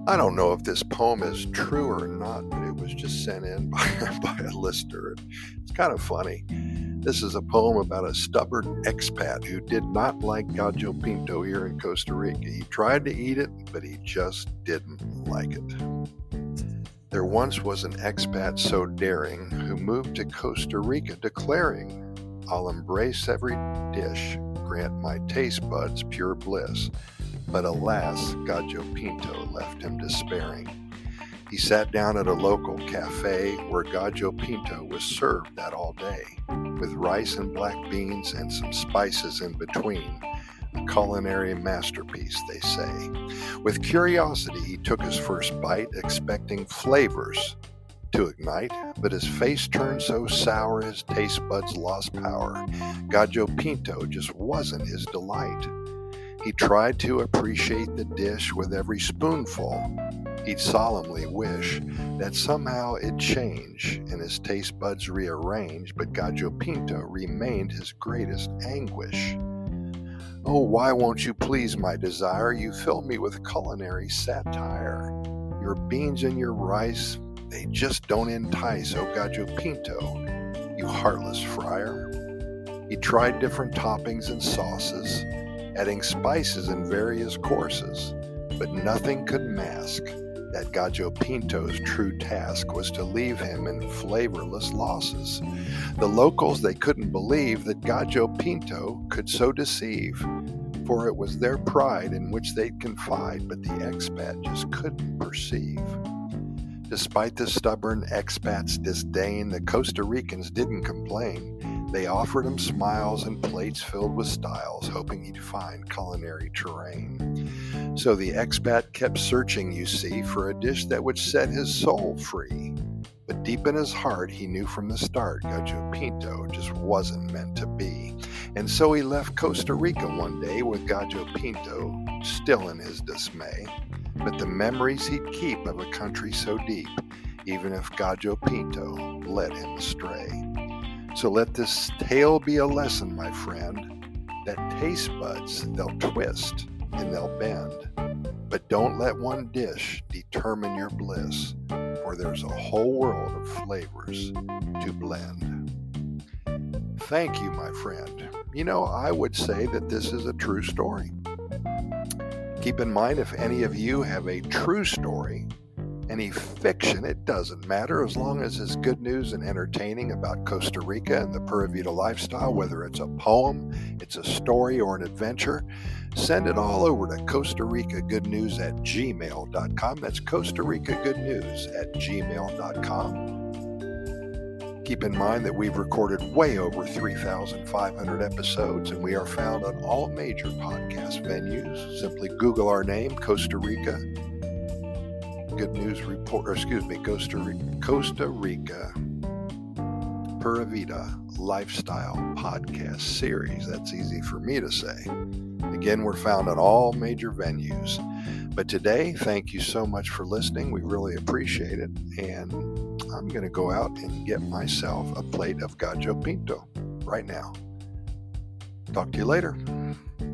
I don't know if this poem is true or not, but it was just sent in by a listener. It's kind of funny. This is a poem about a stubborn expat who did not like gallo pinto here in Costa Rica. He tried to eat it, but he just didn't like it. There once was an expat so daring who moved to Costa Rica declaring, "I'll embrace every dish, grant my taste buds pure bliss." But alas, gallo pinto left him despairing. He sat down at a local cafe where gallo pinto was served that all day, with rice and black beans and some spices in between. A culinary masterpiece, they say. With curiosity, he took his first bite, expecting flavors to ignite, but his face turned so sour his taste buds lost power. Gallo pinto just wasn't his delight. He tried to appreciate the dish with every spoonful. He'd solemnly wish that somehow it'd change and his taste buds rearrange, but gallo pinto remained his greatest anguish. "Oh, why won't you please my desire? You fill me with culinary satire. Your beans and your rice, they just don't entice, oh gallo pinto, you heartless friar." He tried different toppings and sauces, adding spices in various courses, but nothing could mask that gallo pinto's true task was to leave him in flavorless losses. The locals, they couldn't believe that gallo pinto could so deceive, for it was their pride in which they'd confide, but the expat just couldn't perceive. Despite the stubborn expat's disdain, the Costa Ricans didn't complain. They offered him smiles and plates filled with styles, hoping he'd find culinary terrain. So the expat kept searching, you see, for a dish that would set his soul free. But deep in his heart, he knew from the start gallo pinto just wasn't meant to be. And so he left Costa Rica one day with gallo pinto still in his dismay. But the memories he'd keep of a country so deep, even if gallo pinto led him astray. So let this tale be a lesson, my friend, that taste buds, they'll twist and they'll bend. But don't let one dish determine your bliss, for there's a whole world of flavors to blend. Thank you, my friend. You know, I would say that this is a true story. Keep in mind, if any of you have a true story, any fiction, it doesn't matter, as long as it's good news and entertaining about Costa Rica and the Pura Vida lifestyle, whether it's a poem, it's a story, or an adventure, send it all over to Costa Rica Good News at gmail.com. That's Costa Rica Good News at gmail.com. Keep in mind that we've recorded way over 3,500 episodes, and we are found on all major podcast venues. Simply Google our name, Costa Rica Good News Report, Costa Rica Pura Vida Lifestyle Podcast Series. That's easy for me to say. Again, we're found on all major venues. But today, thank you so much for listening. We really appreciate it. And I'm going to go out and get myself a plate of gallo pinto right now. Talk to you later.